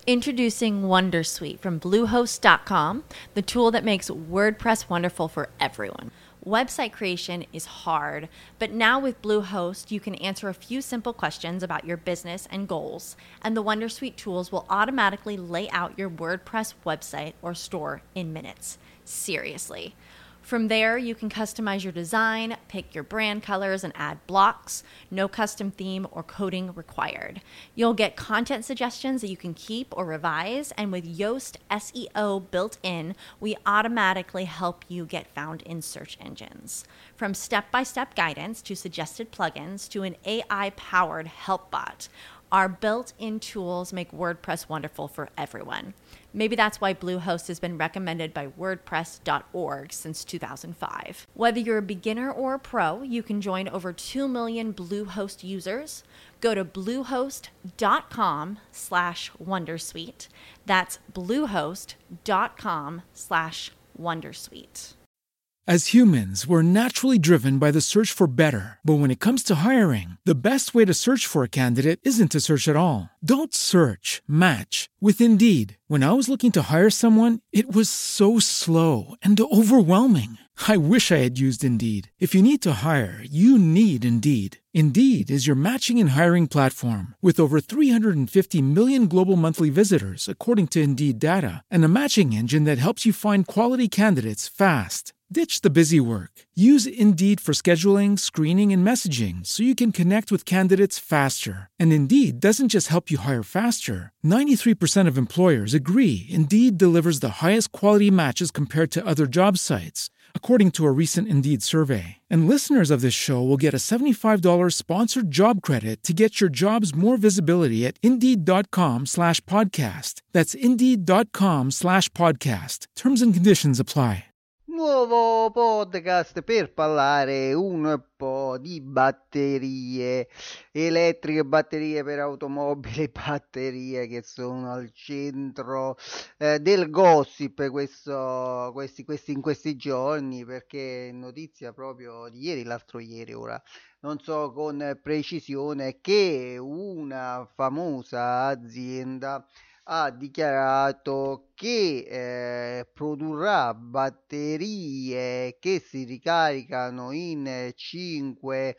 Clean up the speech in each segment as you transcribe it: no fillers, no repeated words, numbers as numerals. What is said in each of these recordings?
Introducing Wondersuite from Bluehost.com, the tool that makes WordPress wonderful for everyone. Website creation is hard, but now with Bluehost, you can answer a few simple questions about your business and goals, and the Wondersuite tools will automatically lay out your WordPress website or store in minutes. Seriously. From there, you can customize your design, pick your brand colors, and add blocks. No custom theme or coding required. You'll get content suggestions that you can keep or revise, and with Yoast SEO built in, we automatically help you get found in search engines. From step-by-step guidance to suggested plugins to an AI-powered help bot, our built-in tools make WordPress wonderful for everyone. Maybe that's why Bluehost has been recommended by WordPress.org since 2005. Whether you're a beginner or a pro, you can join over 2 million Bluehost users. Go to bluehost.com/wondersuite. That's bluehost.com/wondersuite. As humans, we're naturally driven by the search for better. But when it comes to hiring, the best way to search for a candidate isn't to search at all. Don't search, match with Indeed. When I was looking to hire someone, it was so slow and overwhelming. I wish I had used Indeed. If you need to hire, you need Indeed. Indeed is your matching and hiring platform with over 350 million global monthly visitors, according to Indeed data, and a matching engine that helps you find quality candidates fast. Ditch the busy work. Use Indeed for scheduling, screening, and messaging so you can connect with candidates faster. And Indeed doesn't just help you hire faster. 93% of employers agree Indeed delivers the highest quality matches compared to other job sites, according to a recent Indeed survey. And listeners of this show will get a $75 sponsored job credit to get your jobs more visibility at Indeed.com/podcast. That's Indeed.com/podcast. Terms and conditions apply. Nuovo podcast per parlare un po' di batterie elettriche, batterie per automobili, batterie che sono al centro del gossip in questi giorni, perché notizia proprio di ieri, l'altro ieri, ora non so con precisione, che una famosa azienda ha dichiarato che produrrà batterie che si ricaricano in 5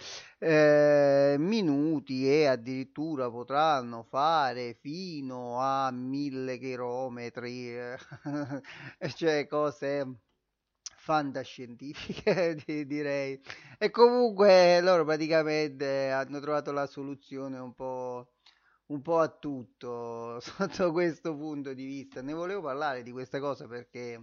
minuti e addirittura potranno fare fino a 1000 chilometri, cioè cose fantascientifiche direi. E comunque loro praticamente hanno trovato la soluzione un po' a tutto sotto questo punto di vista. Ne volevo parlare di questa cosa perché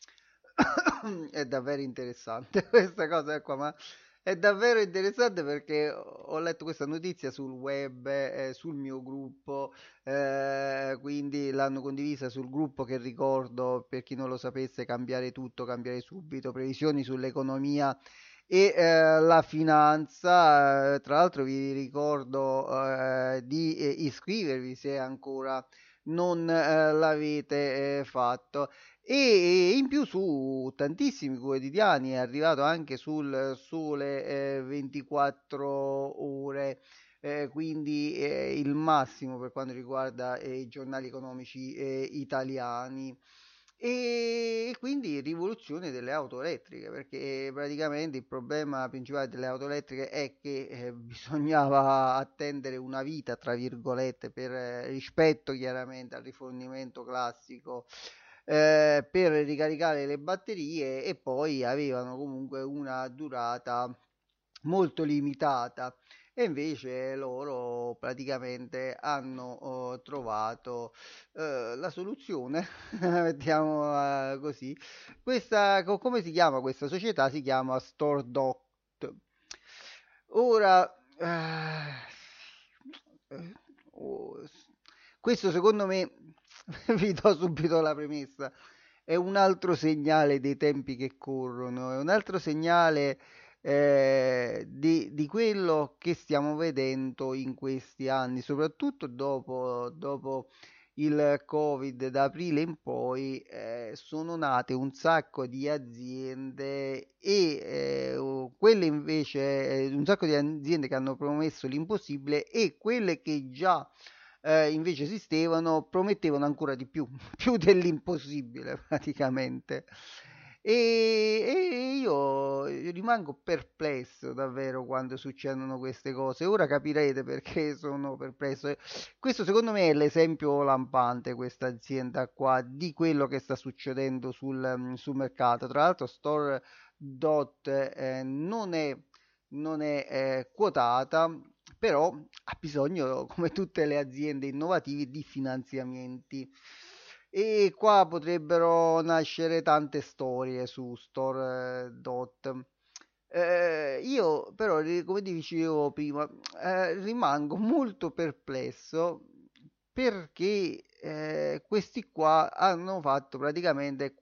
è davvero interessante questa cosa qua, ma è davvero interessante perché ho letto questa notizia sul web, sul mio gruppo, quindi l'hanno condivisa sul gruppo che, ricordo per chi non lo sapesse, Cambiare Tutto, Cambiare Subito, previsioni sull'economia e la finanza. Tra l'altro vi ricordo di iscrivervi se ancora non l'avete fatto, e in più su tantissimi quotidiani è arrivato anche sul Sole 24 ore, quindi il massimo per quanto riguarda i giornali economici italiani. E quindi rivoluzione delle auto elettriche, perché praticamente il problema principale delle auto elettriche è che bisognava attendere una vita, tra virgolette, per rispetto chiaramente al rifornimento classico, per ricaricare le batterie, e poi avevano comunque una durata molto limitata. E invece loro praticamente hanno trovato la soluzione, mettiamo così. Come si chiama questa società? Si chiama StoreDot. Ora, questo secondo me, vi do subito la premessa, è un altro segnale dei tempi che corrono, è un altro segnale di quello che stiamo vedendo in questi anni, soprattutto dopo il Covid. Da aprile in poi sono nate un sacco di aziende e quelle invece un sacco di aziende che hanno promesso l'impossibile, e quelle che già invece esistevano, promettevano ancora di più, più dell'impossibile praticamente. E io rimango perplesso davvero quando succedono queste cose. Ora capirete perché sono perplesso. Questo secondo me è l'esempio lampante, questa azienda qua, di quello che sta succedendo sul mercato. Tra l'altro, StoreDot non è quotata, però ha bisogno, come tutte le aziende innovative, di finanziamenti. E qua potrebbero nascere tante storie su StoreDot. Io però, come dicevo prima, rimango molto perplesso perché questi qua hanno fatto praticamente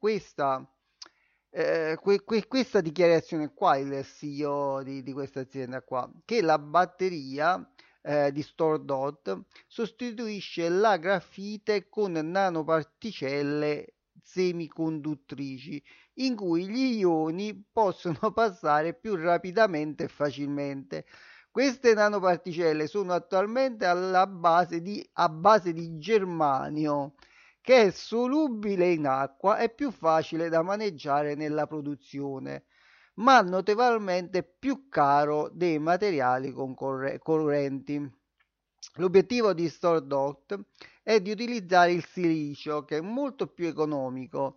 questa dichiarazione qua, il CEO di questa azienda qua, che la batteria di StoreDot sostituisce la grafite con nanoparticelle semiconduttrici in cui gli ioni possono passare più rapidamente e facilmente. Queste nanoparticelle sono attualmente a base di germanio, che è solubile in acqua e più facile da maneggiare nella produzione, ma notevolmente più caro dei materiali correnti. L'obiettivo di StoreDot è di utilizzare il silicio, che è molto più economico.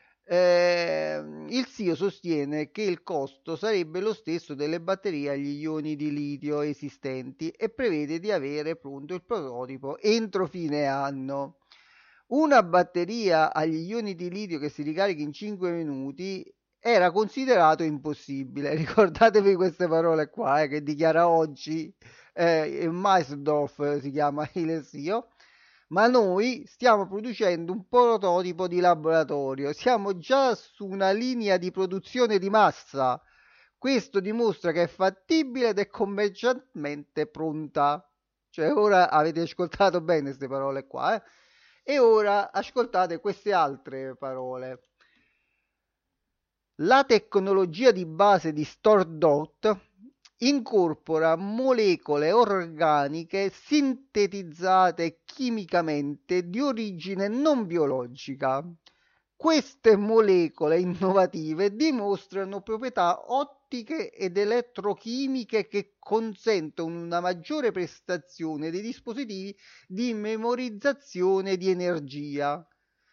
Il CEO sostiene che il costo sarebbe lo stesso delle batterie agli ioni di litio esistenti e prevede di avere pronto il prototipo entro fine anno. Una batteria agli ioni di litio che si ricarica in 5 minuti era considerato impossibile. Ricordatevi queste parole qua, che dichiara oggi Meisdorf, si chiama il CEO. Ma noi stiamo producendo un prototipo di laboratorio, siamo già su una linea di produzione di massa. Questo dimostra che è fattibile ed è commercialmente pronta. Cioè, ora avete ascoltato bene queste parole qua, eh? E ora ascoltate queste altre parole. La tecnologia di base di StoreDot incorpora molecole organiche sintetizzate chimicamente di origine non biologica. Queste molecole innovative dimostrano proprietà ottiche ed elettrochimiche che consentono una maggiore prestazione dei dispositivi di memorizzazione di energia.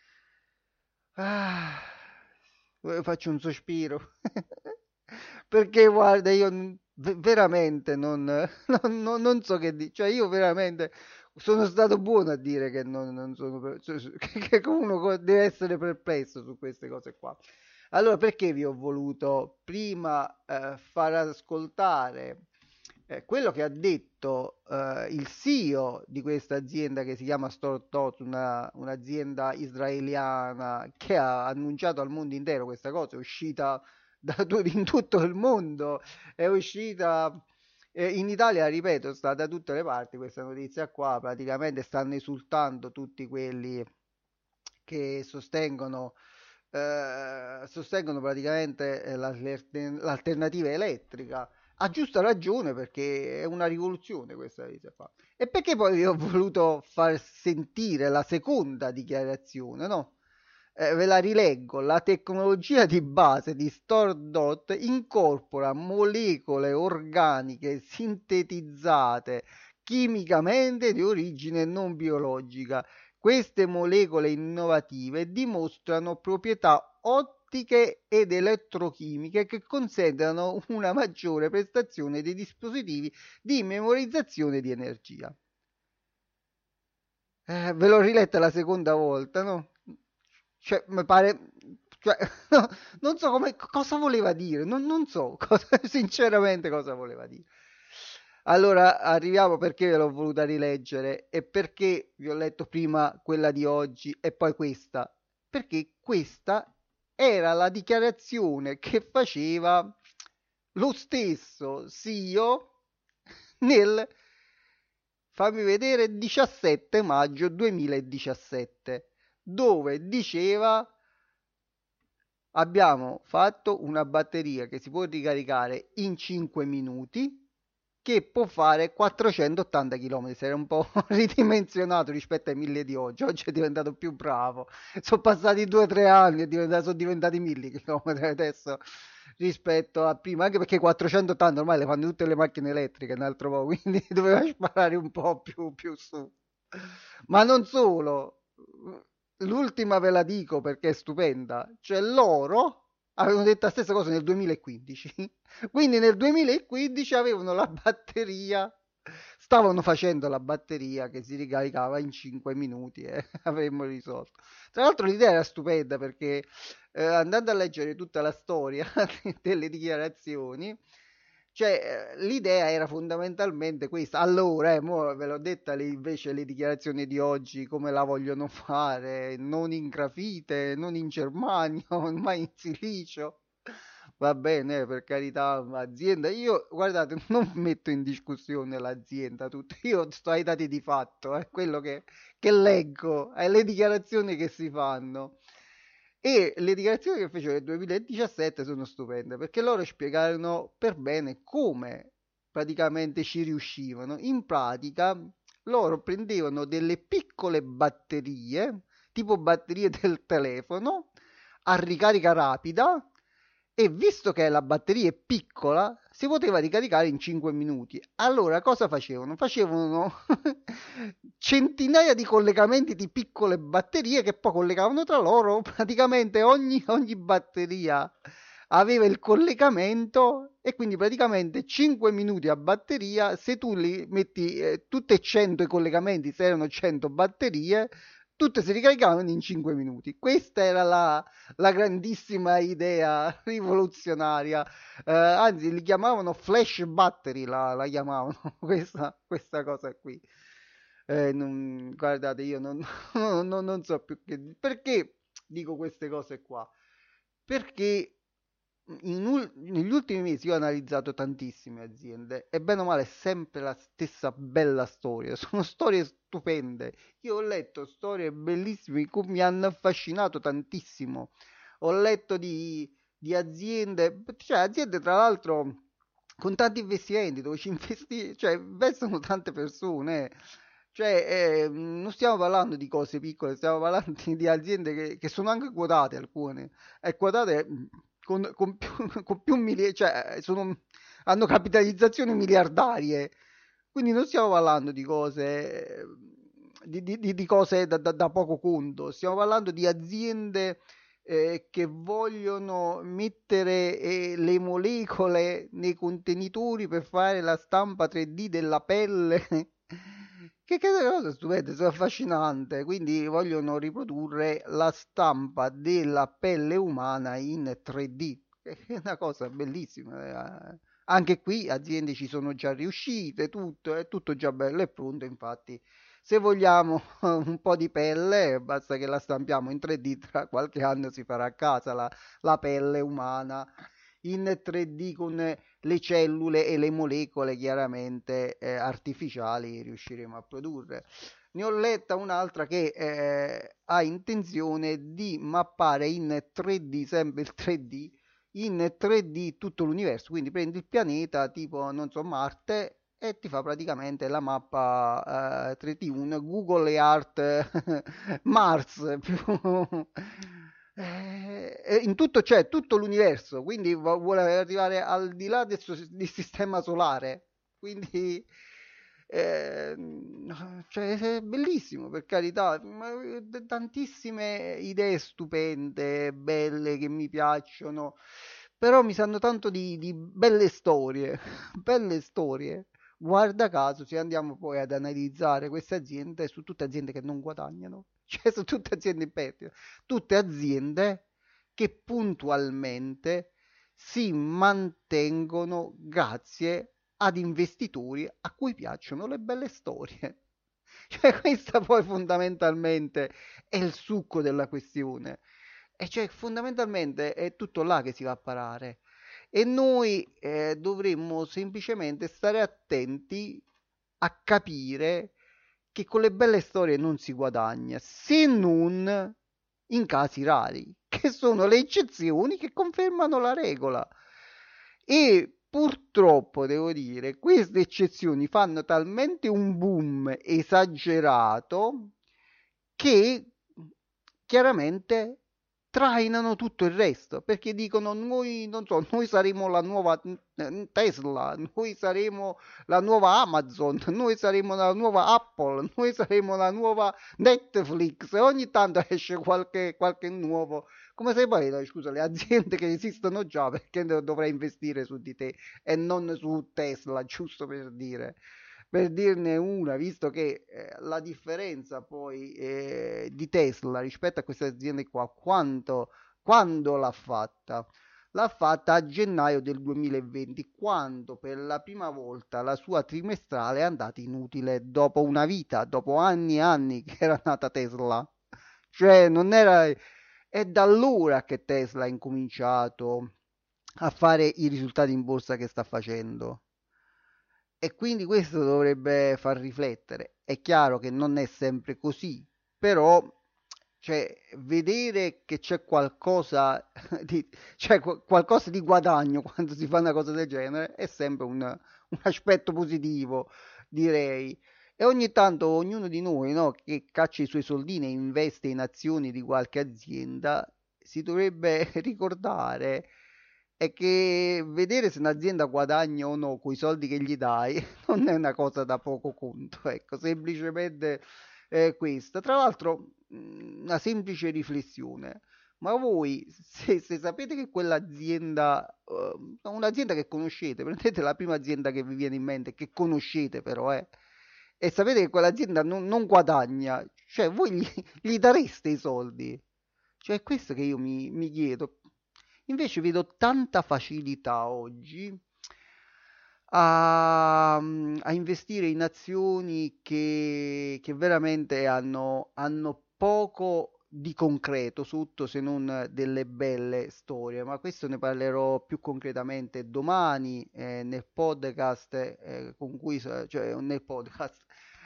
Ah, faccio un sospiro. Perché guarda, io veramente non so che dire. Cioè, io veramente sono stato buono a dire che non sono che uno deve essere perplesso su queste cose qua. Allora, perché vi ho voluto prima far ascoltare quello che ha detto il CEO di questa azienda che si chiama StoreDot, un'azienda israeliana che ha annunciato al mondo intero questa cosa, è uscita in tutto il mondo, è uscita in Italia, ripeto, è stata da tutte le parti questa notizia qua, praticamente stanno esultando tutti quelli che sostengono praticamente l'alternativa elettrica. A giusta ragione, perché è una rivoluzione questa notizia qua. E perché poi vi ho voluto far sentire la seconda dichiarazione, no? Ve la rileggo. La tecnologia di base di StoreDot incorpora molecole organiche sintetizzate chimicamente di origine non biologica. Queste molecole innovative dimostrano proprietà ottiche ed elettrochimiche che consentono una maggiore prestazione dei dispositivi di memorizzazione di energia. Ve l'ho riletta la seconda volta, no? Cioè, mi pare, cioè, no, non so cosa voleva dire, non so sinceramente cosa voleva dire. Allora, arriviamo perché ve l'ho voluta rileggere e perché vi ho letto prima quella di oggi e poi questa. Perché questa era la dichiarazione che faceva lo stesso CEO nel, fammi vedere, 17 maggio 2017, dove diceva: abbiamo fatto una batteria che si può ricaricare in 5 minuti che può fare 480 km. Si era un po' ridimensionato rispetto ai 1000 di oggi. Oggi è diventato più bravo. Sono passati 2 o 3 anni e sono diventati 1000 km adesso rispetto a prima. Anche perché 480 ormai le fanno tutte le macchine elettriche, un altro po', quindi doveva sparare un po' più su. Ma non solo, l'ultima ve la dico perché è stupenda. Cioè loro avevano detto la stessa cosa nel 2015. Quindi nel 2015 avevano la batteria, stavano facendo la batteria che si ricaricava in 5 minuti e avremmo risolto. Tra l'altro l'idea era stupenda perché andando a leggere tutta la storia delle dichiarazioni, cioè l'idea era fondamentalmente questa. Allora, mo ve l'ho detta invece le dichiarazioni di oggi come la vogliono fare, non in grafite, non in germanio, ma in silicio. Va bene, per carità, azienda. Io, guardate, non metto in discussione l'azienda, tutto. Io sto ai dati di fatto, è quello che leggo, è le dichiarazioni che si fanno. E le dichiarazioni che fecero nel 2017 sono stupende perché loro spiegarono per bene come praticamente ci riuscivano. In pratica, loro prendevano delle piccole batterie, tipo batterie del telefono, a ricarica rapida e visto che la batteria è piccola, si poteva ricaricare in 5 minuti. Allora cosa facevano? Facevano centinaia di collegamenti di piccole batterie che poi collegavano tra loro. Praticamente ogni batteria aveva il collegamento e quindi praticamente 5 minuti a batteria. Se tu li metti tutte e 100 i collegamenti, se erano 100 batterie, tutte si ricaricavano in 5 minuti. Questa era la grandissima idea rivoluzionaria. Anzi, li chiamavano flash battery, la chiamavano questa cosa qui. Guardate, io non so più perché dico queste cose qua. Perché negli ultimi mesi io ho analizzato tantissime aziende e bene o male è sempre la stessa bella storia. Sono storie stupende. Io ho letto storie bellissime che mi hanno affascinato tantissimo. Ho letto di aziende, cioè aziende tra l'altro con tanti investimenti dove ci investi, cioè investono tante persone. Cioè, non stiamo parlando di cose piccole, stiamo parlando di aziende che sono anche quotate alcune. E quotate con più, con più cioè hanno capitalizzazioni miliardarie. Quindi non stiamo parlando di cose, di cose da poco conto, stiamo parlando di aziende che vogliono mettere le molecole nei contenitori per fare la stampa 3D della pelle. Che cosa stupenda, sono affascinante. Quindi vogliono riprodurre la stampa della pelle umana in 3D. È una cosa bellissima. Anche qui aziende ci sono già riuscite, tutto, è tutto già bello e pronto. Infatti, se vogliamo un po' di pelle, basta che la stampiamo in 3D, tra qualche anno si farà a casa la pelle umana in 3D con le cellule e le molecole chiaramente artificiali riusciremo a produrre. Ne ho letta un'altra che ha intenzione di mappare in 3D, sempre il 3D, in 3D tutto l'universo, quindi prendi il pianeta tipo, non so, Marte e ti fa praticamente la mappa 3D, un Google Earth Mars più in tutto c'è tutto l'universo, quindi vuole arrivare al di là del sistema solare. Quindi cioè, è bellissimo per carità, tantissime idee stupende, belle che mi piacciono, però mi sanno tanto di belle storie, belle storie. Guarda caso, se andiamo poi ad analizzare queste aziende, sono tutte aziende che non guadagnano, cioè sono tutte aziende in perdita, tutte aziende che puntualmente si mantengono grazie ad investitori a cui piacciono le belle storie. Cioè, questa poi fondamentalmente è il succo della questione. E cioè, fondamentalmente è tutto là che si va a parare. E noi dovremmo semplicemente stare attenti a capire che con le belle storie non si guadagna, se non in casi rari, che sono le eccezioni che confermano la regola. E purtroppo devo dire, queste eccezioni fanno talmente un boom esagerato che chiaramente trainano tutto il resto, perché dicono noi, non so, noi saremo la nuova Tesla, noi saremo la nuova Amazon, noi saremo la nuova Apple, noi saremo la nuova Netflix, e ogni tanto esce qualche nuovo, come se poi, no, scusa, le aziende che esistono già, perché dovrei investire su di te e non su Tesla, giusto per dire. Per dirne una, visto che la differenza poi di Tesla rispetto a queste aziende qua, quando l'ha fatta? L'ha fatta a gennaio del 2020, quando per la prima volta la sua trimestrale è andata inutile dopo una vita, dopo anni e anni che era nata Tesla. Cioè, non era... È da allora che Tesla ha incominciato a fare i risultati in borsa che sta facendo. E quindi questo dovrebbe far riflettere. È chiaro che non è sempre così, però cioè, vedere che c'è qualcosa qualcosa di guadagno quando si fa una cosa del genere è sempre un aspetto positivo, direi. E ogni tanto ognuno di noi, no, che caccia i suoi soldini e investe in azioni di qualche azienda, si dovrebbe ricordare è che vedere se un'azienda guadagna o no con i soldi che gli dai non è una cosa da poco conto, ecco, semplicemente questa. Tra l'altro, una semplice riflessione. Ma voi, se sapete che quell'azienda, un'azienda che conoscete, prendete la prima azienda che vi viene in mente, che conoscete però, e sapete che quell'azienda non guadagna, cioè voi gli dareste i soldi? Cioè è questo che io mi chiedo. Invece vedo tanta facilità oggi a investire in azioni che veramente hanno poco di concreto sotto se non delle belle storie, ma questo ne parlerò più concretamente domani nel podcast con cui, cioè nel podcast,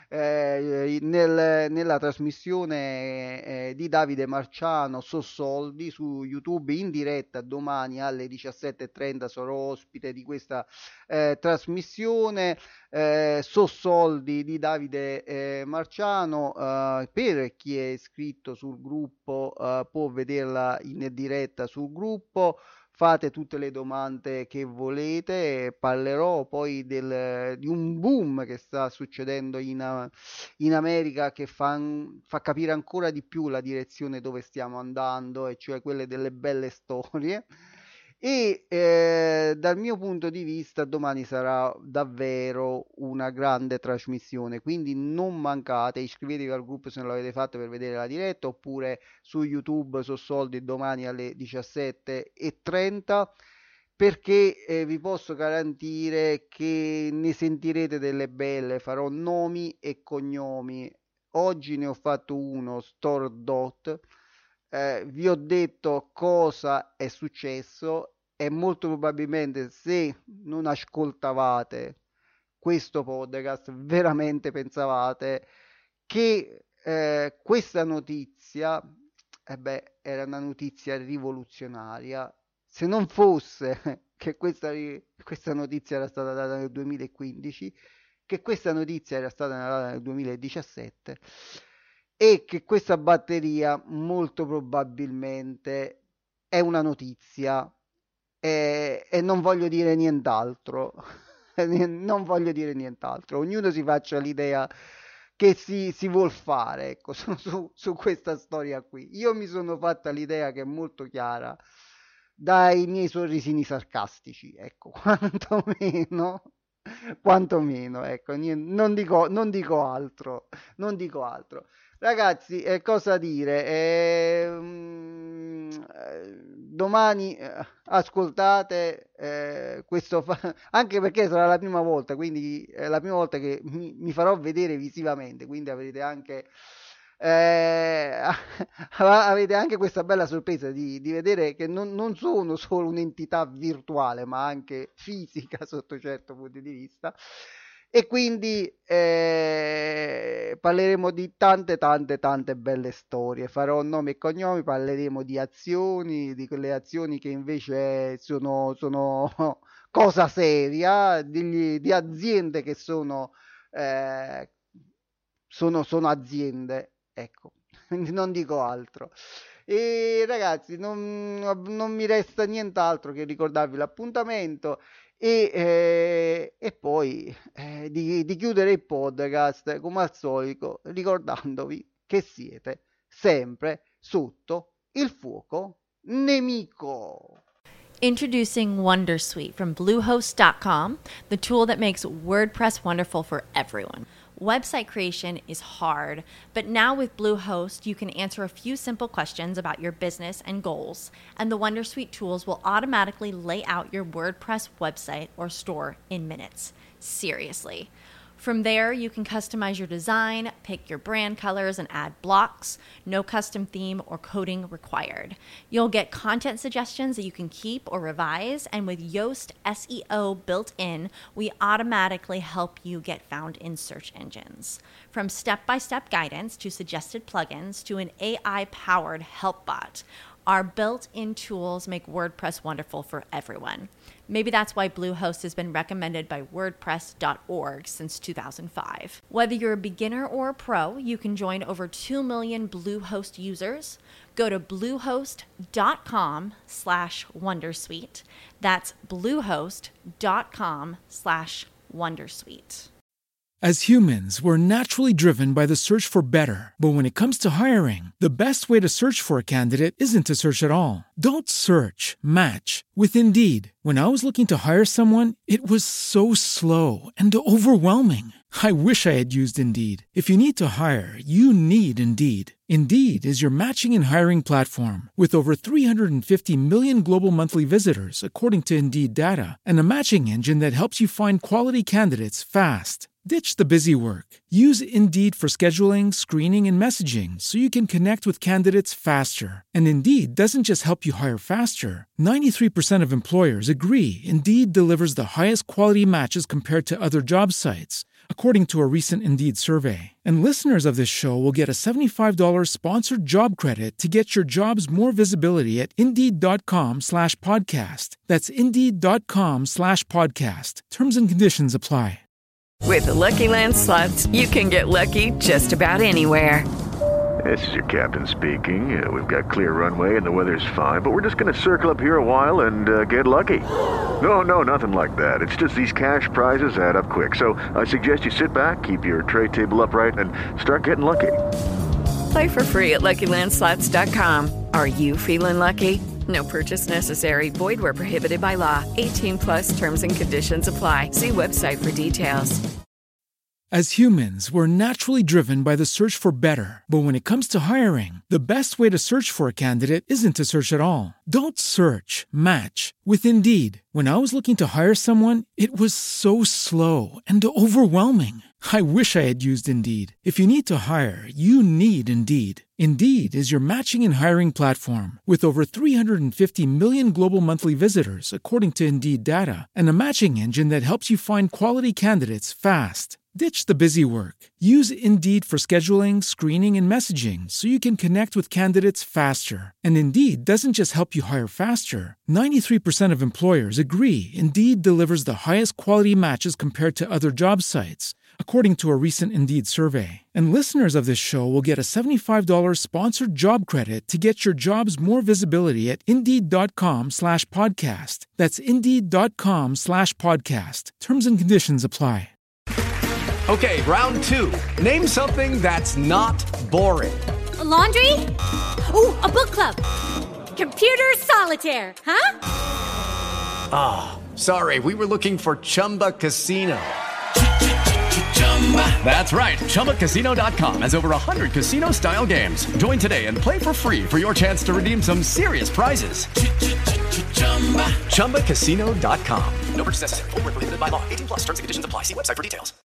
nella trasmissione di Davide Marciano So Soldi su YouTube in diretta domani alle 17:30 sarò ospite di questa trasmissione So Soldi di Davide Marciano. Per chi è iscritto sul gruppo può vederla in diretta sul gruppo. Fate tutte le domande che volete, parlerò poi di un boom che sta succedendo in America che fa capire ancora di più la direzione dove stiamo andando, e cioè quelle delle belle storie. E dal mio punto di vista domani sarà davvero una grande trasmissione, quindi non mancate, iscrivetevi al gruppo se non l'avete fatto per vedere la diretta, oppure su YouTube So Soldi domani alle 17:30, perché vi posso garantire che ne sentirete delle belle. Farò nomi e cognomi. Oggi ne ho fatto uno, StoreDot. Vi ho detto cosa è successo e molto probabilmente se non ascoltavate questo podcast veramente pensavate che questa notizia era una notizia rivoluzionaria, se non fosse che questa notizia era stata data nel 2015, che questa notizia era stata data nel 2017 e che questa batteria molto probabilmente è una notizia, e non voglio dire nient'altro. Non voglio dire nient'altro. Ognuno si faccia l'idea che si vuol fare, ecco, su questa storia qui. Io mi sono fatta l'idea che è molto chiara dai miei sorrisini sarcastici, ecco, quantomeno, ecco, non dico altro, non dico altro. Ragazzi, cosa dire? Domani ascoltate anche perché sarà la prima volta, quindi è la prima volta che mi farò vedere visivamente, quindi avrete anche avete anche questa bella sorpresa di vedere che non sono solo un'entità virtuale, ma anche fisica sotto certo punto di vista. E quindi parleremo di tante belle storie, farò nomi e cognomi, parleremo di azioni, di quelle azioni che invece sono cosa seria, di aziende che eh, sono aziende, ecco, quindi non dico altro. E ragazzi, non mi resta nient'altro che ricordarvi l'appuntamento e poi di chiudere il podcast come al solito ricordandovi che siete sempre sotto il fuoco nemico. Introducing Wondersuite from Bluehost.com, the tool that makes WordPress wonderful for everyone. Website creation is hard, but now with Bluehost, you can answer a few simple questions about your business and goals, and the Wondersuite tools will automatically lay out your WordPress website or store in minutes. Seriously. From there, you can customize your design, pick your brand colors, and add blocks. No custom theme or coding required. You'll get content suggestions that you can keep or revise, and with Yoast SEO built in, we automatically help you get found in search engines. From step-by-step guidance to suggested plugins to an AI-powered help bot, our built-in tools make WordPress wonderful for everyone. Maybe that's why Bluehost has been recommended by WordPress.org since 2005. Whether you're a beginner or a pro, you can join over 2 million Bluehost users. Go to bluehost.com/wondersuite. That's bluehost.com/wondersuite. As humans, we're naturally driven by the search for better. But when it comes to hiring, the best way to search for a candidate isn't to search at all. Don't search, match with Indeed. When I was looking to hire someone, it was so slow and overwhelming. I wish I had used Indeed. If you need to hire, you need Indeed. Indeed is your matching and hiring platform with over 350 million global monthly visitors, according to Indeed data, and a matching engine that helps you find quality candidates fast. Ditch the busy work. Use Indeed for scheduling, screening, and messaging so you can connect with candidates faster. And Indeed doesn't just help you hire faster. 93% of employers agree Indeed delivers the highest quality matches compared to other job sites, according to a recent Indeed survey. And listeners of this show will get a $75 sponsored job credit to get your jobs more visibility at Indeed.com/podcast. That's Indeed.com/podcast. Terms and conditions apply. With the Lucky Land Slots, you can get lucky just about anywhere. This is your captain speaking. We've got clear runway and the weather's fine, but we're just going to circle up here a while and get lucky. No, nothing like that. It's just these cash prizes add up quick. So I suggest you sit back, keep your tray table upright, and start getting lucky. Play for free at LuckyLandSlots.com. Are you feeling lucky? No purchase necessary. Void where prohibited by law. 18+ terms and conditions apply. See website for details. As humans, we're naturally driven by the search for better. But when it comes to hiring, the best way to search for a candidate isn't to search at all. Don't search, match with Indeed. When I was looking to hire someone, it was so slow and overwhelming. I wish I had used Indeed. If you need to hire, you need Indeed. Indeed is your matching and hiring platform with over 350 million global monthly visitors, according to Indeed data, and a matching engine that helps you find quality candidates fast. Ditch the busy work. Use Indeed for scheduling, screening, and messaging so you can connect with candidates faster. And Indeed doesn't just help you hire faster. 93% of employers agree Indeed delivers the highest quality matches compared to other job sites, according to a recent Indeed survey. And listeners of this show will get a $75 sponsored job credit to get your jobs more visibility at Indeed.com/podcast. That's Indeed.com/podcast. Terms and conditions apply. Okay, round two. Name something that's not boring. A laundry? Ooh, a book club. Computer solitaire, huh? Ah, sorry, we were looking for Chumba Casino. That's right, ChumbaCasino.com has over 100 casino-style games. Join today and play for free for your chance to redeem some serious prizes. ChumbaCasino.com. No purchase necessary. Void where prohibited by law. 18+ terms and conditions apply. See website for details.